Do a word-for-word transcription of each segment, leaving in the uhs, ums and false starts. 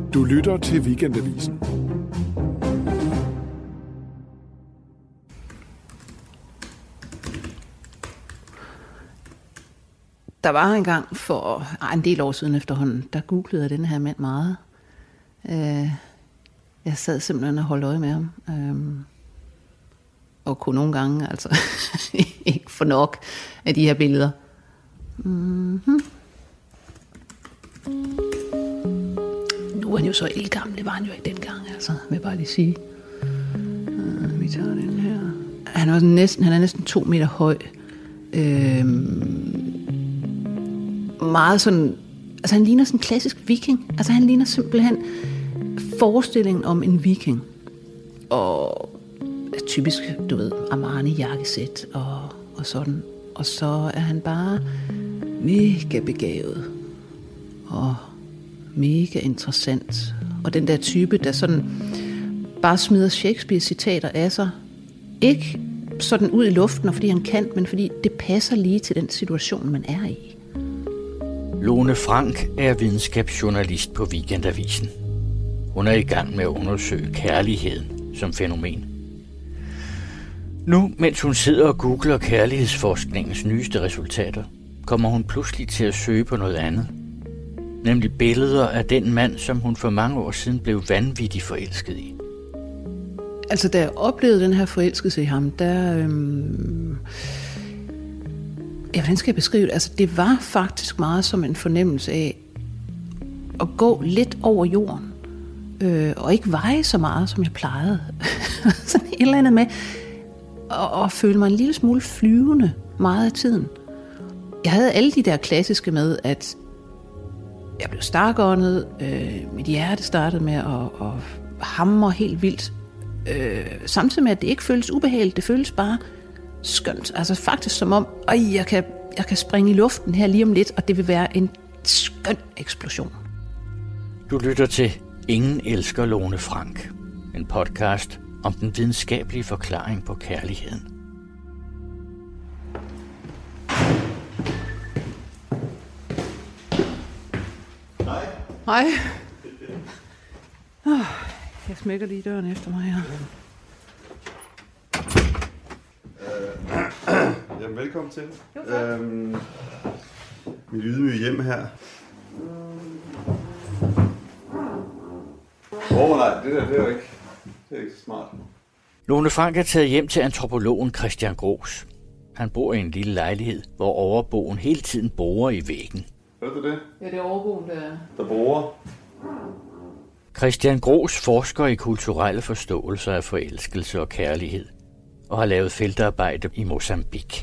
Du lytter til Weekendavisen. Der var engang for ej, en del år siden efterhånden, der googlede jeg den her mand meget. Øh, jeg sad simpelthen og holdt øje med ham. Øh, og kunne nogle gange altså ikke få nok af de her billeder. Mm-hmm. Nu er han jo så ældgammel, det var han jo ikke dengang, altså, vil jeg bare lige sige. Øh, vi tager den her. Han er næsten, han er næsten to meter høj. Øh, meget sådan, altså han ligner sådan en klassisk viking. Altså han ligner simpelthen forestillingen om en viking. Og typisk, du ved, Armani-jakkesæt og, og sådan. Og så er han bare mega begavet og mega interessant. Og den der type, der sådan bare smider Shakespeare-citater af sig. Ikke sådan ud i luften, og fordi han kan, men fordi det passer lige til den situation, man er i. Lone Frank er videnskabsjournalist på Weekendavisen. Hun er i gang med at undersøge kærligheden som fænomen. Nu, mens hun sidder og googler kærlighedsforskningens nyeste resultater, kommer hun pludselig til at søge på noget andet. Nemlig billeder af den mand, som hun for mange år siden blev vanvittigt forelsket i. Altså, da jeg oplevede den her forelskelse i ham, der... Øhm Ja, hvordan skal jeg beskrive det? Altså, det var faktisk meget som en fornemmelse af at gå lidt over jorden, øh, og ikke veje så meget, som jeg plejede. Sådan et eller andet med at, at føle mig en lille smule flyvende meget af tiden. Jeg havde alle de der klassiske med, at jeg blev starkåndet, øh, mit hjerte startede med at, at hamre helt vildt, øh, samtidig med, at det ikke føles ubehageligt, det føles bare skønt. Altså faktisk som om, øj, jeg kan, jeg kan springe i luften her lige om lidt, og det vil være en skøn eksplosion. Du lytter til Ingen elsker Lone Frank. En podcast om den videnskabelige forklaring på kærligheden. Hej. Hej. Oh, jeg smækker lige døren efter mig her. Jamen, velkommen til. Øhm, mit ydmyge hjem her. Åh oh, nej, det der, det er jo ikke, det er ikke så smart. Lone Frank er taget hjem til antropologen Christian Gros. Han bor i en lille lejlighed, hvor overboen hele tiden borer i væggen. Hørte du det? Ja, det er overboen, der er. Der borer. Christian Gros forsker i kulturelle forståelser af forelskelse og kærlighed, og har lavet feltarbejde i Mozambique.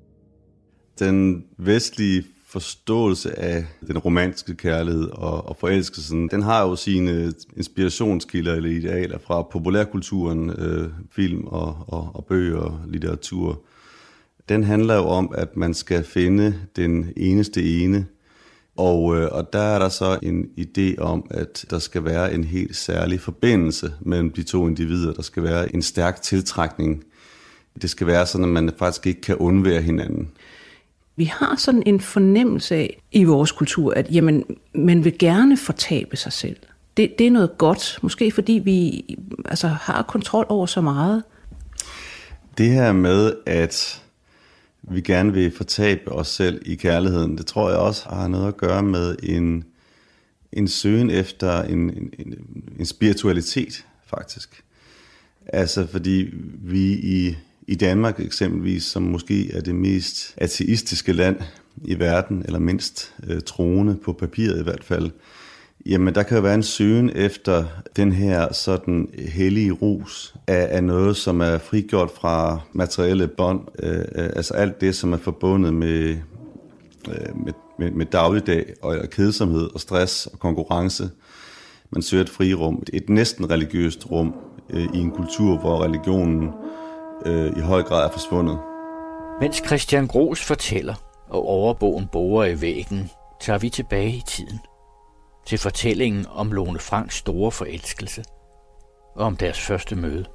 Den vestlige forståelse af den romantiske kærlighed og, og forelskelsen, den har jo sine inspirationskilder eller idealer fra populærkulturen, øh, film og, og, og bøger og litteratur. Den handler jo om, at man skal finde den eneste ene, og, øh, og der er der så en idé om, at der skal være en helt særlig forbindelse mellem de to individer. Der skal være en stærk tiltrækning. Det skal være sådan, at man faktisk ikke kan undvære hinanden. Vi har sådan en fornemmelse af i vores kultur, at jamen, man vil gerne fortabe sig selv. Det, det er noget godt, måske fordi vi altså, har kontrol over så meget. Det her med, at vi gerne vil fortabe os selv i kærligheden, det tror jeg også har noget at gøre med en, en søgen efter en, en, en spiritualitet, faktisk. Altså fordi vi i, i Danmark eksempelvis, som måske er det mest ateistiske land i verden, eller mindst øh, troende på papiret i hvert fald, jamen der kan jo være en søgen efter den her sådan hellige rus af, af noget, som er frigjort fra materielle bånd, øh, altså alt det, som er forbundet med, øh, med, med, med dagligdag og kedsomhed og stress og konkurrence. Man søger et frirum, et næsten religiøst rum øh, i en kultur, hvor religionen øh, i høj grad er forsvundet. Mens Christian Gros fortæller, og overboen borer i væggen, tager vi tilbage i tiden. Til fortællingen om Lone Franks store forelskelse og om deres første møde.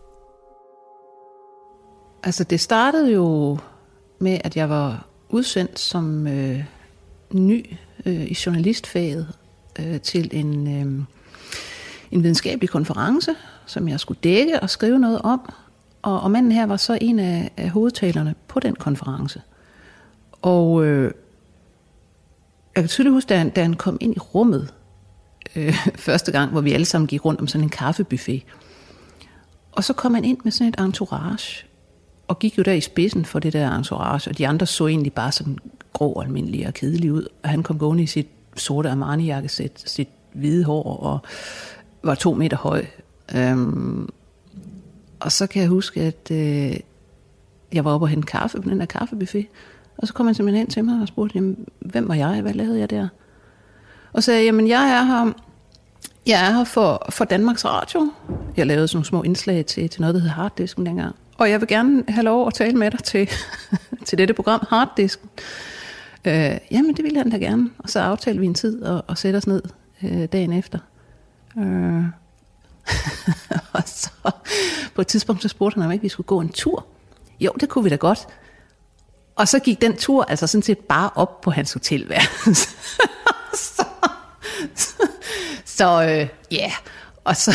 Altså det startede jo med, at jeg var udsendt som øh, ny øh, i journalistfaget øh, til en, øh, en videnskabelig konference, som jeg skulle dække og skrive noget om. Og, og manden her var så en af, af hovedtalerne på den konference. Og øh, jeg kan tydeligt huske, da han, da han kom ind i rummet øh, første gang, hvor vi alle sammen gik rundt om sådan en kaffebuffet. Og så kom han ind med sådan et entourage, og gik jo der i spidsen for det der entourage, og de andre så egentlig bare sådan grå, almindelige og kedelige ud. Og han kom gående i sit sorte Armani-jakkesæt, sit hvide hår, og var to meter høj. Øhm, og så kan jeg huske, at øh, jeg var oppe og hente kaffe på den der kaffebuffet, og så kom han simpelthen hen til mig og spurgte, jamen, hvem var jeg? Hvad lavede jeg der? Og så sagde jeg, jamen, jeg er her, jeg er her for, for Danmarks Radio. Jeg lavede sådan nogle små indslag til, til noget, der hed Harddisken dengang. Og jeg vil gerne have lov at tale med dig til, til dette program, Harddisken. Øh, jamen, det ville han da gerne. Og så aftalte vi en tid og, og sætte os ned øh, dagen efter. Øh. Og så på et tidspunkt, så spurgte han, om ikke vi skulle gå en tur. Jo, det kunne vi da godt. Og så gik den tur altså sådan set bare op på hans hotelværelse. så så, så øh, ja, yeah. Og så...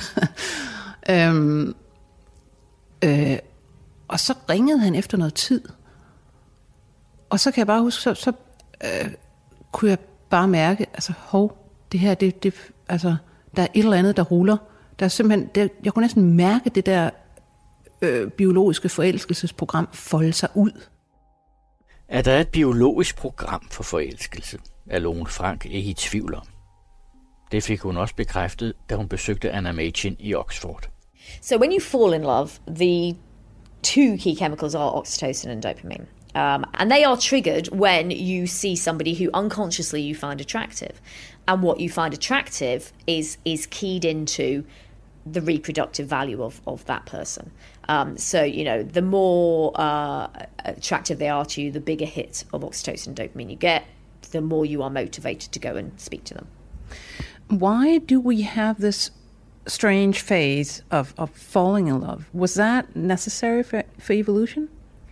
øhm, øh, og så ringede han efter noget tid. Og så kan jeg bare huske, så, så øh, kunne jeg bare mærke, altså hov, det her, det, det, altså, der er et eller andet, der ruller. Der er simpelthen, det, jeg kunne næsten mærke det der øh, biologiske forelskelsesprogram folde sig ud. Er der et biologisk program for forelskelse, er Lone Frank ikke i tvivl om. Det fik hun også bekræftet, da hun besøgte Anna Machin i Oxford. So when you fall in love, the two key chemicals are oxytocin and dopamine. Um, and they are triggered when you see somebody who unconsciously you find attractive. And what you find attractive is is keyed into the reproductive value of, of that person. Um, so, you know, the more uh, attractive they are to you, the bigger hit of oxytocin and dopamine you get, the more you are motivated to go and speak to them. Why do we have this strange phase of, of falling in love? Was that necessary for, for evolution?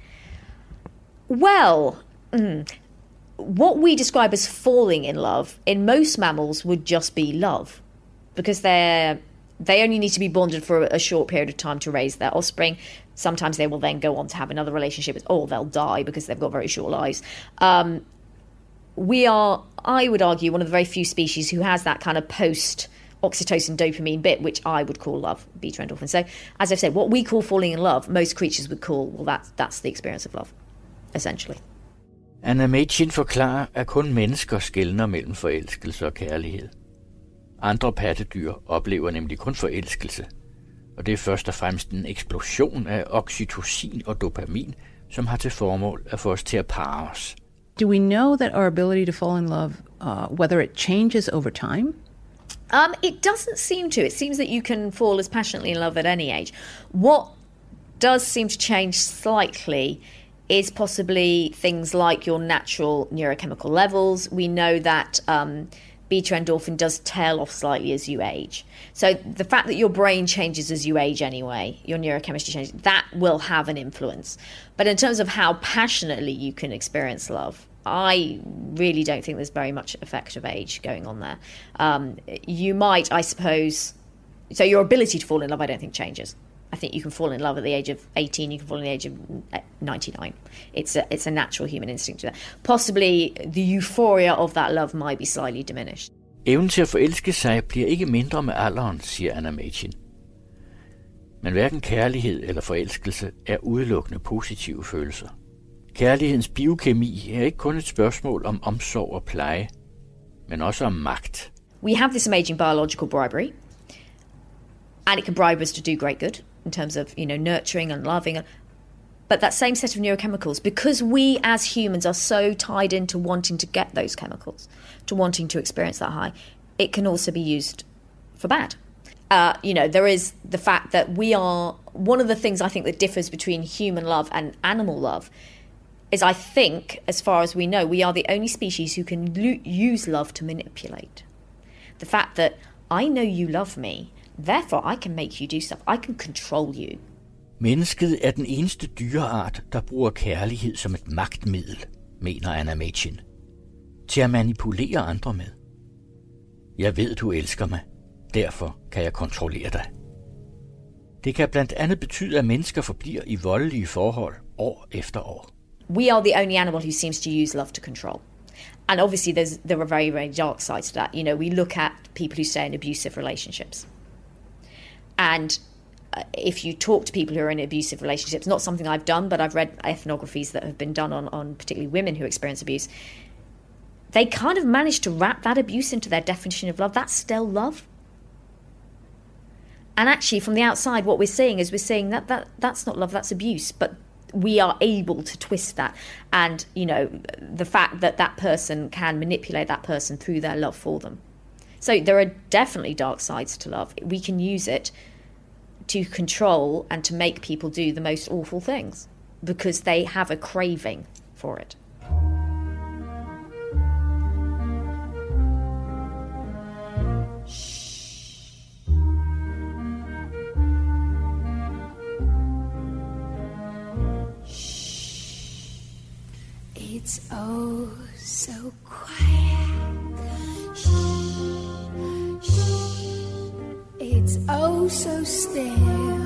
Well, mm, what we describe as falling in love in most mammals would just be love, because they're they only need to be bonded for a short period of time to raise their offspring. Sometimes they will then go on to have another relationship, or they'll die because they've got very short lives. Um, we are, I would argue, one of the very few species who has that kind of post oxytocin dopamine bit, which I would call love, beta endorphin. So, as I've said, what we call falling in love, most creatures would call, well, that, that's the experience of love, essentially. Anna Machin forklarer, at kun mennesker skelner mellem forelskelse og kærlighed. Andre pattedyr oplever nemlig kun forelskelse, og det er først og fremmest en eksplosion af oxytocin og dopamin, som har til formål at få os til at parre os. Do we know that our ability to fall in love, uh, whether it changes over time? Um, it doesn't seem to. It seems that you can fall as passionately in love at any age. What does seem to change slightly is possibly things like your natural neurochemical levels. We know that um, beta endorphin does tail off slightly as you age. So the fact that your brain changes as you age anyway, your neurochemistry changes, that will have an influence. But in terms of how passionately you can experience love, I really don't think there's very much effect of age going on there. Um, you might, I suppose, so your ability to fall in love, I don't think changes. I think you can fall in love at the age of eighteen, you can fall in the age of ninety-nine. It's a, it's a natural human instinct to that. Possibly the euphoria of that love might be slightly diminished. Evnen til at forelske sig bliver ikke mindre med alderen, siger Anna Machin. Men hverken kærlighed eller forelskelse er udelukkende positive følelser. Kærlighedens biokemi er ikke kun et spørgsmål om omsorg og pleje, men også om magt. We have this amazing biological bribery, and it can bribe us to do great good in terms of, you know, nurturing and loving. But that same set of neurochemicals, because we as humans are so tied into wanting to get those chemicals, to wanting to experience that high, it can also be used for bad. Uh, you know, there is the fact that we are, one of the things I think that differs between human love and animal love is I think, as far as we know, we are the only species who can lo- use love to manipulate. The fact that I know you love me, therefore I can make you do stuff. I can control you. Mennesket er den eneste dyreart, der bruger kærlighed som et magtmiddel, mener Anna Machin. Til at manipulere andre med. Jeg ved, du elsker mig. derfor kan jeg kontrollere dig. Det kan blandt andet betyde, at mennesker forbliver i voldelige forhold år efter år. We are the only animal who seems to use love to control. And obviously there's, there are very, very dark sides to that. You know, we look at people who stay in abusive relationships. And if you talk to people who are in abusive relationships, not something I've done, but I've read ethnographies that have been done on, on particularly women who experience abuse, they kind of manage to wrap that abuse into their definition of love. That's still love. And actually, from the outside, what we're seeing is we're seeing that, that that's not love, that's abuse. But we are able to twist that. And, you know, the fact that that person can manipulate that person through their love for them. So there are definitely dark sides to love. We can use it to control and to make people do the most awful things because they have a craving for it. It's oh so quiet. Shh, shh. It's oh so still.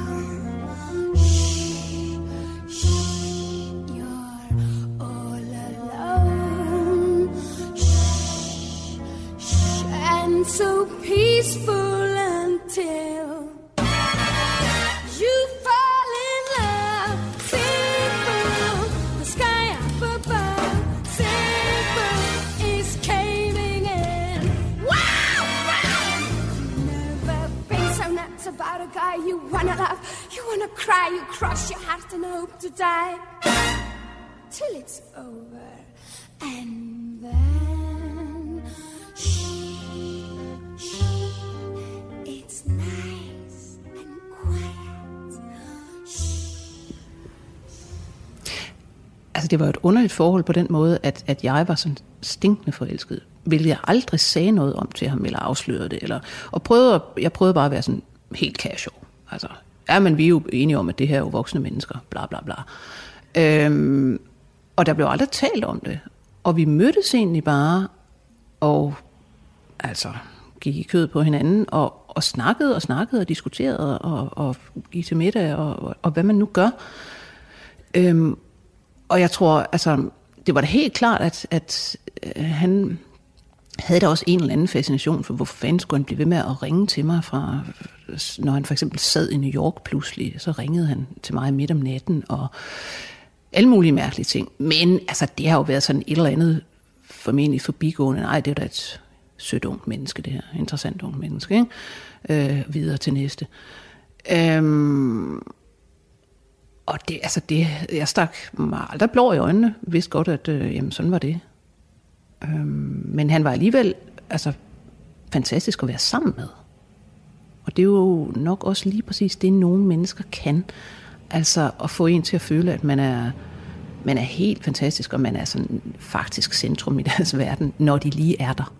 Shh, shh. You're all alone. Shh, shh. And so peaceful until you fall in love. Simple, the sky up above. Simple is caving in. Wow, wow. Never been so nuts about a guy you wanna love. You wanna cry, you cross your heart and hope to die till it's over. And then shh, shh. It's nice and quiet. Altså, det var et underligt forhold på den måde, at, at jeg var sådan stinkende forelsket, hvilket jeg aldrig sagde noget om til ham, eller afslørede det, eller, og prøvede, jeg prøvede bare at være sådan helt casual. Altså, ja, men vi er jo enige om, at det her er jo voksne mennesker, bla bla bla. Øhm, og der blev aldrig talt om det. Og vi mødtes egentlig bare, og altså gik i kød på hinanden, og, og snakkede og snakkede og diskuterede, og, og gik til middag, og, og, og hvad man nu gør. Øhm, og jeg tror, altså, det var da helt klart, at, at øh, han havde da også en eller anden fascination for, hvorfor fanden skulle han blive ved med at ringe til mig fra, når han for eksempel sad i New York pludselig, så ringede han til mig midt om natten, og alle mulige mærkelige ting. Men altså, det har jo været sådan et eller andet formentlig forbigående. Nej, det er da et sødt ungt menneske, det her. Interessant ungt menneske, ikke? Øh, videre til næste. Øhm, og det, altså det, jeg stak mig aldrig blå i øjnene. Vidste godt, at øh, jamen, sådan var det. Øhm, men han var alligevel altså, fantastisk at være sammen med. Og det er jo nok også lige præcis det, nogle mennesker kan. Altså at få en til at føle, at man er, man er helt fantastisk, og man er sådan faktisk centrum i deres verden, når de lige er der.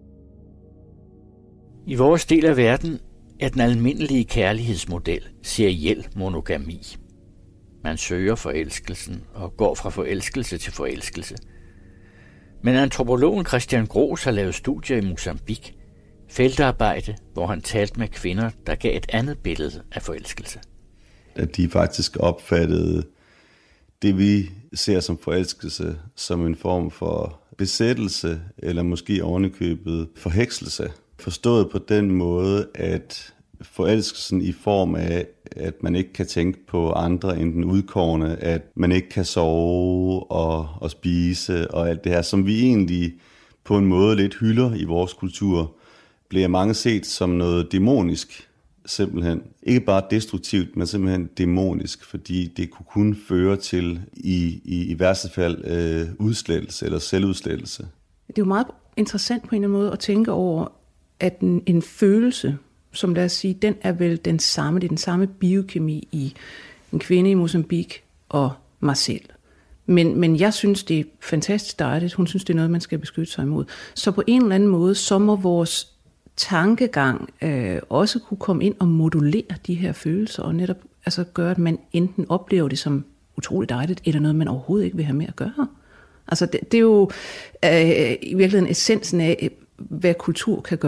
I vores del af verden er den almindelige kærlighedsmodel seriel monogami. Man søger forelskelsen og går fra forelskelse til forelskelse. Men antropologen Christian Gros har lavet studier i Mozambique, feltarbejde, hvor han talte med kvinder, der gav et andet billede af forelskelse. At de faktisk opfattede det, vi ser som forelskelse, som en form for besættelse, eller måske ovenikøbet forhekselse. Forstået på den måde, at forelskelsen i form af, at man ikke kan tænke på andre end den udkårne, at man ikke kan sove og, og spise og alt det her, som vi egentlig på en måde lidt hylder i vores kultur, bliver mange set som noget dæmonisk. Simpelthen. Ikke bare destruktivt, men simpelthen dæmonisk, fordi det kunne kun føre til, i, i, i værste fald, øh, udslettelse eller selvudslettelse. Det er jo meget interessant på en eller anden måde at tænke over, at en, en følelse, som lad os sige, den er vel den samme, det er den samme biokemi i en kvinde i Mozambique og mig selv. Men, men jeg synes, det er fantastisk dejligt. Hun synes, det er noget, man skal beskytte sig imod. Så på en eller anden måde, så må vores tankegang øh, også kunne komme ind og modulere de her følelser, og netop altså, gøre, at man enten oplever det som utroligt dejligt, eller noget, man overhovedet ikke vil have med at gøre. Altså det, det er jo øh, i virkeligheden essensen af, hvad kultur kan gøre.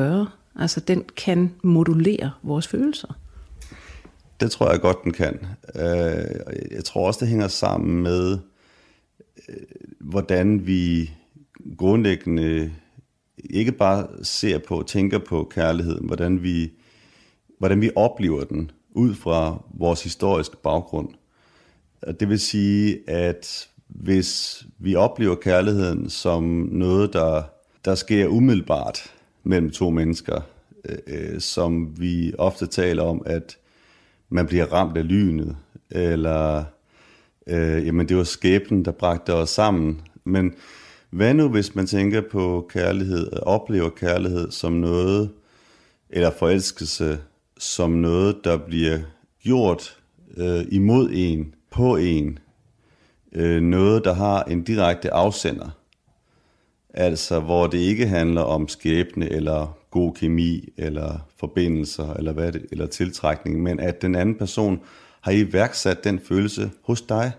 Altså, den kan modulere vores følelser. Det tror jeg godt, den kan. Jeg tror også, det hænger sammen med, hvordan vi grundlæggende ikke bare ser på og tænker på kærligheden, hvordan vi, hvordan vi oplever den ud fra vores historiske baggrund. Det vil sige, at hvis vi oplever kærligheden som noget, der, der sker umiddelbart mellem to mennesker, øh, som vi ofte taler om, at man bliver ramt af lynet, eller øh, jamen det var skæbnen, der bragte os sammen. Men hvad nu, hvis man tænker på kærlighed, oplever kærlighed som noget, eller forelskelse som noget, der bliver gjort øh, imod en, på en, øh, noget, der har en direkte afsender, altså hvor det ikke handler om skæbne, eller god kemi, eller forbindelser, eller, hvad det, eller tiltrækning, men at den anden person har iværksat den følelse hos dig,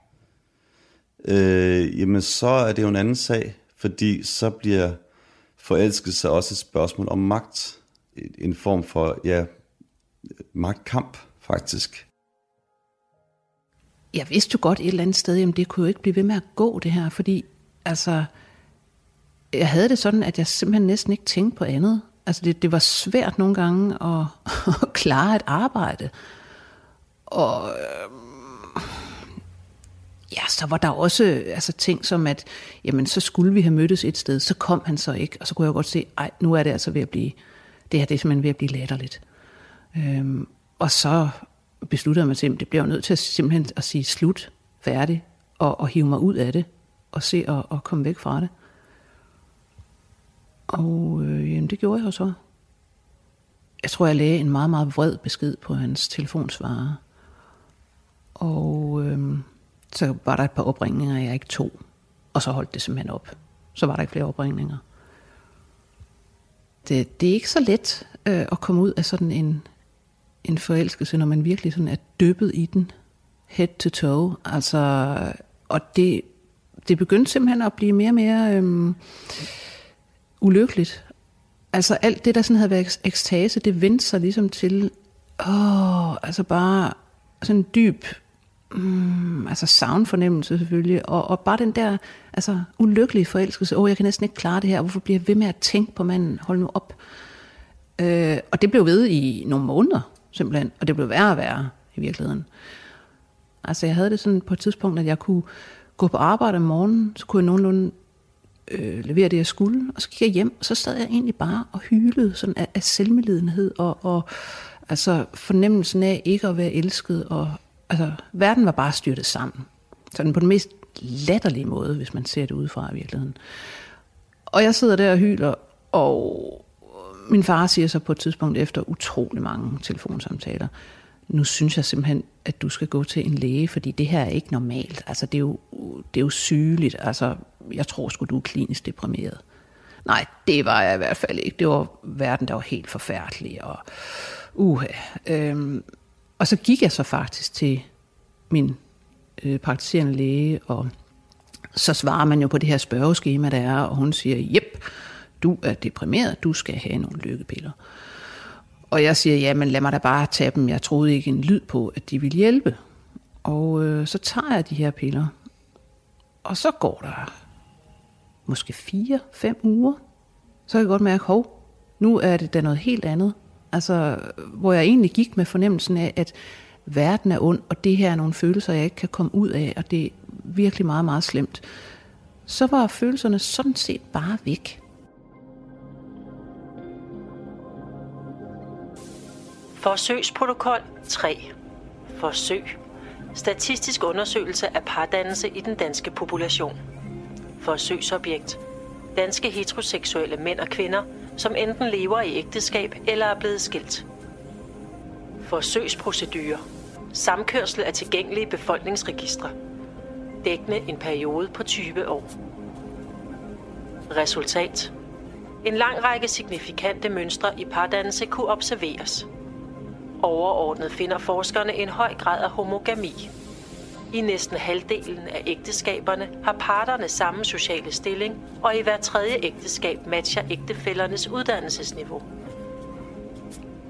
øh, jamen så er det jo en anden sag, fordi så bliver forelskelse også et spørgsmål om magt, en form for, ja, magtkamp faktisk. Jeg vidste jo godt et eller andet sted, jamen det kunne jo ikke blive ved med at gå det her, fordi altså, jeg havde det sådan, at jeg simpelthen næsten ikke tænkte på andet. Altså det, det var svært nogle gange at, at klare et arbejde. Og øh, ja, så var der også altså, ting som, at jamen, så skulle vi have mødtes et sted, så kom han så ikke. Og så kunne jeg godt se, ej, nu er det altså ved at blive, det her det er simpelthen ved at blive latterligt. Øhm, og så besluttede jeg mig til, at det bliver jo nødt til at simpelthen at sige slut, færdig, og, og hive mig ud af det, og se og, og komme væk fra det. Og øh, jamen, det gjorde jeg jo så. Jeg tror, jeg lagde en meget, meget vred besked på hans telefonsvarer. Og øh, så var der et par opringninger, jeg ikke tog. Og så holdt det simpelthen op. Så var der ikke flere opringninger. Det, det er ikke så let øh, at komme ud af sådan en, en forelskelse, når man virkelig sådan er dyppet i den, head to toe. Altså, og det, det begyndte simpelthen at blive mere og mere øh, ulykkeligt. Altså alt det, der sådan havde været ekstase, det vendte sig ligesom til, åh, altså bare sådan en dyb, mm, altså savnfornemmelse selvfølgelig, og, og bare den der, altså ulykkelige forelskelse, åh, jeg kan næsten ikke klare det her, hvorfor bliver jeg ved med at tænke på manden, hold nu op. Øh, og det blev ved i nogle måneder, simpelthen, og det blev værre og værre i virkeligheden. Altså jeg havde det sådan på et tidspunkt, at jeg kunne gå på arbejde om morgenen, så kunne jeg nogenlunde Øh, levere det, jeg skulle, og så gik jeg hjem, og så sad jeg egentlig bare og hylede sådan af, af selvmedlidenhed, og, og altså fornemmelsen af ikke at være elsket, og altså verden var bare styrtet sammen. Sådan på den mest latterlige måde, hvis man ser det udefra i virkeligheden. Og jeg sidder der og hyler, og min far siger så på et tidspunkt efter utrolig mange telefonsamtaler, nu synes jeg simpelthen, at du skal gå til en læge, fordi det her er ikke normalt. Altså, det er jo, det er jo sygeligt. Altså, jeg tror sgu, du er klinisk deprimeret. Nej, det var jeg i hvert fald ikke. Det var verden, der var helt forfærdelig. Og, uh, øhm, og så gik jeg så faktisk til min øh, praktiserende læge, og så svarer man jo på det her spørgeskema, der er, og hun siger, jep, du er deprimeret, du skal have nogle lykkepiller. Og jeg siger, ja, men lad mig da bare tage dem. Jeg troede ikke en lyd på, at de ville hjælpe. Og øh, så tager jeg de her piller. Og så går der måske fire, fem uger. Så kan jeg godt mærke, hov, nu er det da noget helt andet. Altså, hvor jeg egentlig gik med fornemmelsen af, at verden er ond, og det her er nogle følelser, jeg ikke kan komme ud af, og det er virkelig meget, meget slemt. Så var følelserne sådan set bare væk. Forsøgsprotokol tre. Forsøg. Statistisk undersøgelse af pardannelse i den danske population. Forsøgsobjekt. Danske heteroseksuelle mænd og kvinder, som enten lever i ægteskab eller er blevet skilt. Forsøgsprocedure. Samkørsel af tilgængelige befolkningsregistre. Dækkende en periode på tyve år. Resultat. En lang række signifikante mønstre i pardannelse kunne observeres. Overordnet finder forskerne en høj grad af homogami. I næsten halvdelen af ægteskaberne har parterne samme sociale stilling, og i hver tredje ægteskab matcher ægtefællernes uddannelsesniveau.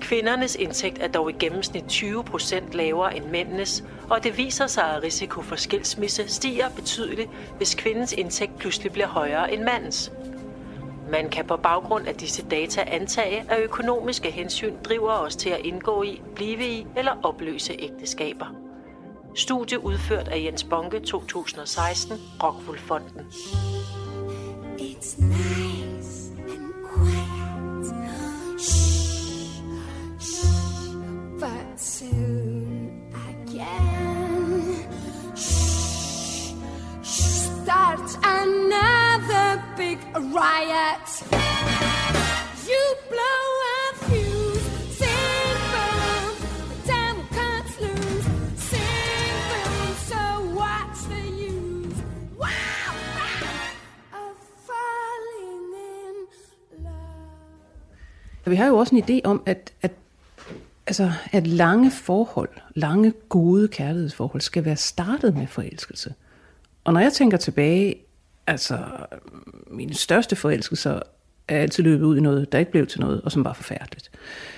Kvindernes indtægt er dog i gennemsnit tyve procent lavere end mændenes, og det viser sig, at risiko for skilsmisse stiger betydeligt, hvis kvindens indtægt pludselig bliver højere end mandens. Man kan på baggrund af disse data antage, at økonomiske hensyn driver os til at indgå i, blive i eller opløse ægteskaber. Studie udført af Jens Bonke to tusind og seksten, Rockwool Fonden. It's nice and quiet. Shh, shh, but soon again. Shh, start another big riot. You blow a fuse, sing boom, the time will cut loose. Sing boom, so what's the use? Wow, wow, of falling in love. Vi har jo også en idé om, at, at, altså, at lange forhold, lange gode kærlighedsforhold, skal være startet med forelskelse. Og når jeg tænker tilbage, altså mine største forelskelser er altid løbet ud i noget, der ikke blev til noget, og som var forfærdeligt.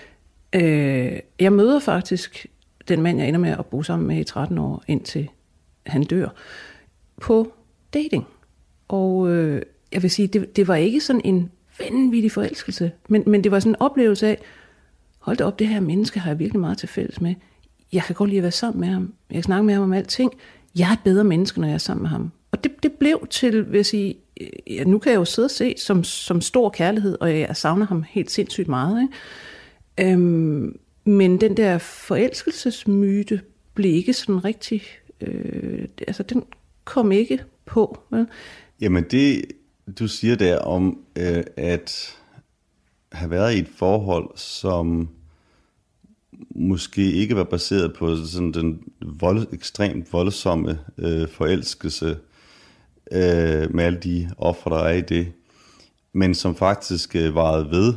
Øh, jeg møder faktisk den mand, jeg ender med at bo sammen med i tretten år, indtil han dør, på dating. Og øh, jeg vil sige, det, det var ikke sådan en vanvittig forelskelse, men, men det var sådan en oplevelse af, hold da op, det her menneske har jeg virkelig meget til fælles med. Jeg kan godt lide at være sammen med ham. Jeg kan snakke med ham om alting. Jeg er et bedre menneske, når jeg er sammen med ham. Og det, det blev til, vil jeg sige, ja, nu kan jeg jo sidde og se som, som stor kærlighed, og jeg savner ham helt sindssygt meget. Ikke? Øhm, men den der forelskelsesmyte blev ikke sådan rigtig, øh, altså den kom ikke på. Vel? Jamen det, du siger der om, øh, at have været i et forhold, som måske ikke var baseret på sådan den vold, ekstremt voldsomme øh, forelskelse øh, med alle de ofre, der er i det, men som faktisk øh, varede ved.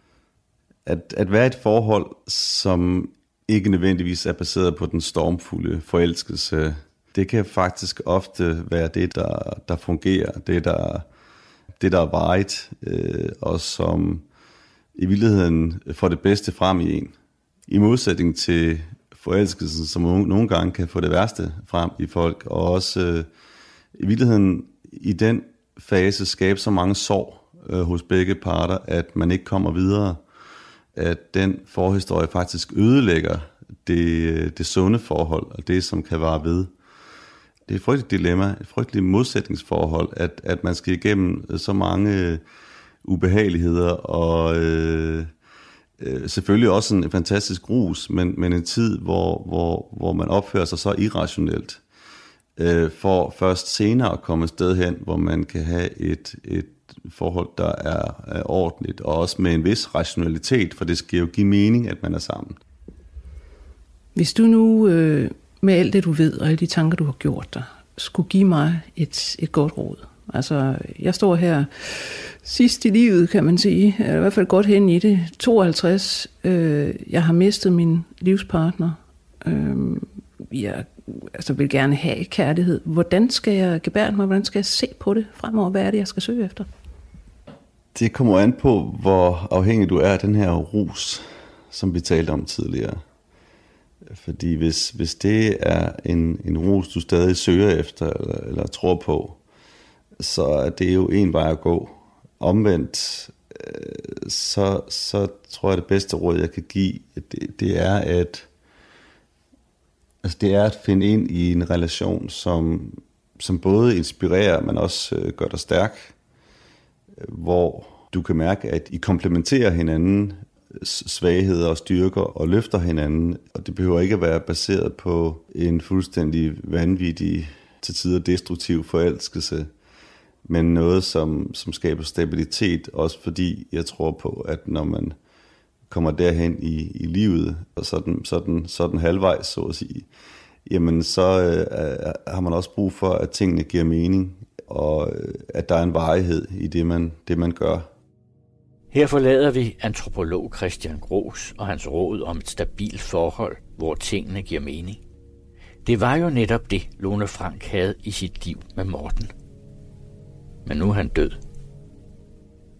At, at være i et forhold, som ikke nødvendigvis er baseret på den stormfulde forelskelse, det kan faktisk ofte være det, der, der fungerer, det der, det, der er varigt, øh, og som i virkeligheden får det bedste frem i en. I modsætning til forelskelsen, som nogle gange kan få det værste frem i folk, og også øh, i virkeligheden i den fase skabe så mange sår øh, hos begge parter, at man ikke kommer videre, at den forhistorie faktisk ødelægger det, det sunde forhold, og det, som kan vare ved. Det er et frygteligt dilemma, et frygteligt modsætningsforhold, at, at man skal igennem så mange ubehageligheder, og øh, øh, selvfølgelig også en fantastisk rus, men, men en tid, hvor, hvor, hvor man opfører sig så irrationelt, øh, for først senere at komme et sted hen, hvor man kan have et, et forhold, der er, er ordentligt, og også med en vis rationalitet, for det skal jo give mening, at man er sammen. Hvis du nu, øh, med alt det du ved, og alle de tanker du har gjort dig, skulle give mig et, et godt råd. Altså, jeg står her sidst i livet, kan man sige, eller i hvert fald godt hen i det, tooghalvtreds. Øh, jeg har mistet min livspartner. Øh, jeg altså, vil gerne have kærlighed. Hvordan skal jeg gebærde mig? Hvordan skal jeg se på det fremover? Hvad er det, jeg skal søge efter? Det kommer an på, hvor afhængig du er af den her rus, som vi talte om tidligere. Fordi hvis, hvis det er en, en rus, du stadig søger efter eller, eller tror på, så er det jo en vej at gå. Omvendt, så, så tror jeg, det bedste råd, jeg kan give, det, det er at altså det er at finde ind i en relation, som, som både inspirerer, men også gør dig stærk, hvor du kan mærke, at I komplementerer hinanden svagheder og styrker og løfter hinanden, og det behøver ikke at være baseret på en fuldstændig vanvittig, til tider destruktiv forelskelse, men noget, som, som skaber stabilitet, også fordi jeg tror på, at når man kommer derhen i, i livet, og sådan, sådan, sådan halvvejs, så at sige, jamen så øh, har man også brug for, at tingene giver mening, og øh, at der er en varighed i det, man, det, man gør. Her forlader vi antropolog Christian Gros og hans råd om et stabilt forhold, hvor tingene giver mening. Det var jo netop det, Lone Frank havde i sit liv med Morten. Men nu er han død.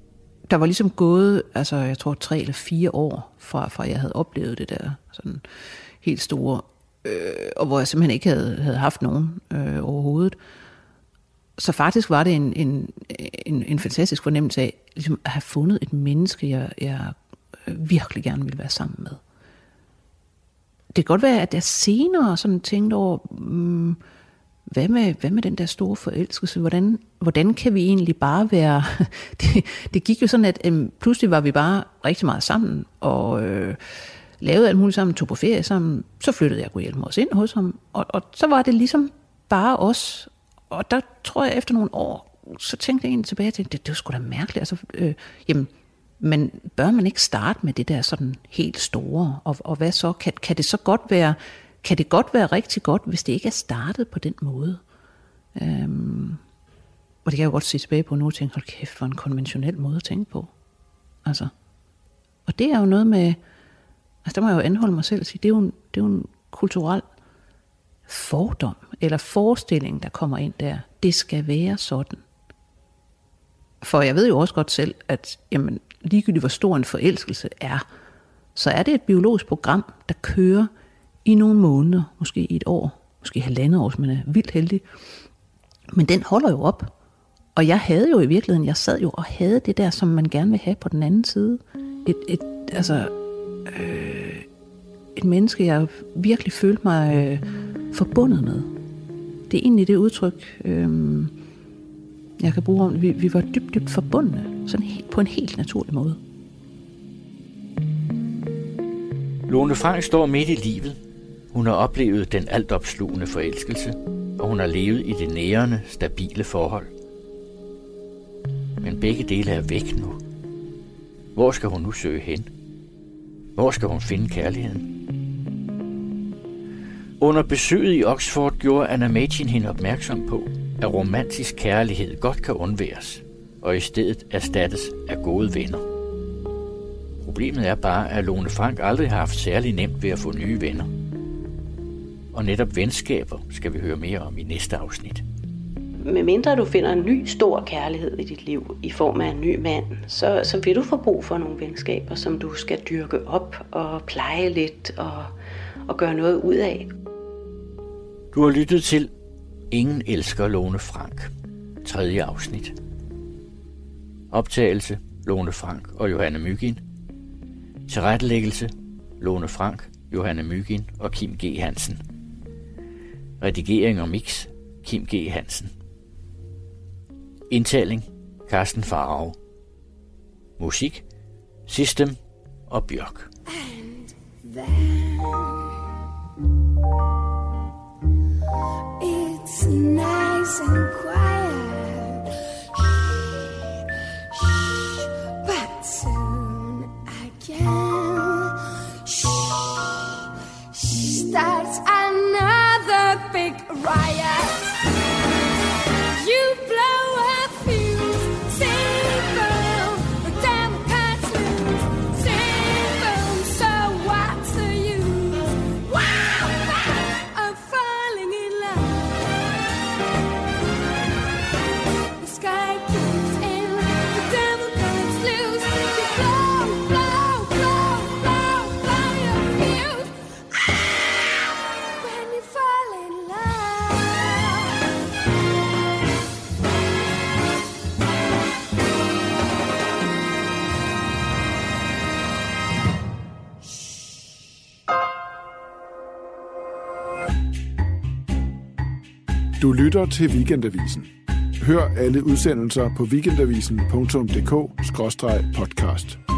der var ligesom gået, altså jeg tror tre eller fire år fra, fra jeg havde oplevet det der sådan helt store, øh, og hvor jeg simpelthen ikke havde, havde haft nogen øh, overhovedet. Så faktisk var det en, en, en, en fantastisk fornemmelse af ligesom at have fundet et menneske, jeg, jeg virkelig gerne ville være sammen med. Det kan godt være, at jeg senere sådan tænkte over, hmm, hvad, med, hvad med den der store forelskelse? Hvordan, hvordan kan vi egentlig bare være... det, det gik jo sådan, at øhm, pludselig var vi bare rigtig meget sammen, og øh, lavede alt muligt sammen, tog på ferie sammen. Så flyttede jeg Gudhjælpemod os ind hos ham, og, og så var det ligesom bare os. Og der tror jeg, efter nogle år, så tænkte jeg egentlig tilbage, at det, det var sgu da mærkeligt. Altså, øh, jamen, men bør man ikke starte med det der sådan helt store? Og, og hvad så? Kan, kan det så godt være, kan det godt være rigtig godt, hvis det ikke er startet på den måde? Øhm, og det kan jeg jo godt se tilbage på nu og tænke, hold kæft, hvor en konventionel måde at tænke på. Altså, og det er jo noget med, altså der må jeg jo anholde mig selv og sige, det er jo en, det er jo en kulturel fordom eller forestilling, der kommer ind der. Det skal være sådan. For jeg ved jo også godt selv, at jamen, ligegyldigt hvor stor en forelskelse er, så er det et biologisk program, der kører i nogle måneder, måske i et år, måske halvandet år, hvis man er vildt heldig. Men den holder jo op. Og jeg havde jo i virkeligheden, jeg sad jo og havde det der, som man gerne vil have på den anden side. Et, et, altså, øh, et menneske, jeg virkelig følte mig øh, forbundet med. Det er egentlig det udtryk, øh, jeg kan bruge om, vi, vi var dybt, dybt forbundne, sådan helt, på en helt naturlig måde. Lone Frank står midt i livet. Hun har oplevet den altopslugende forelskelse, og hun har levet i det nærende, stabile forhold. Men begge dele er væk nu. Hvor skal hun nu søge hen? Hvor skal hun finde kærligheden? Under besøget i Oxford gjorde Anna Machin hende opmærksom på, at romantisk kærlighed godt kan undværes, og i stedet erstattes af gode venner. Problemet er bare, at Lone Frank aldrig har haft særlig nemt ved at få nye venner. Og netop venskaber skal vi høre mere om i næste afsnit. Med mindre du finder en ny stor kærlighed i dit liv i form af en ny mand, så, så vil du få brug for nogle venskaber, som du skal dyrke op og pleje lidt og, og gøre noget ud af. Du har lyttet til Ingen elsker Lone Frank, tredje afsnit. Optagelse Lone Frank og Johanne Mygin. Tilrettelæggelse Lone Frank, Johanne Mygin og Kim G. Hansen. Redigering og mix Kim G. Hansen. Indtaling Carsten Farag. Musik System og Bjørk. It's nice and quiet, shh, shh, but soon again, shh, shh, starts another big riot. You blow a fuse, sing boom, the devil cuts loose, sing boom, so what's the use? Wow, wow, I'm falling in love. The sky keeps in, the devil cuts loose, you blow, blow, blow, blow, blow your fuse. Ah, when you fall in love. Du lytter til Weekendavisen. Hør alle udsendelser på weekendavisen punktum d k skråstreg podcast.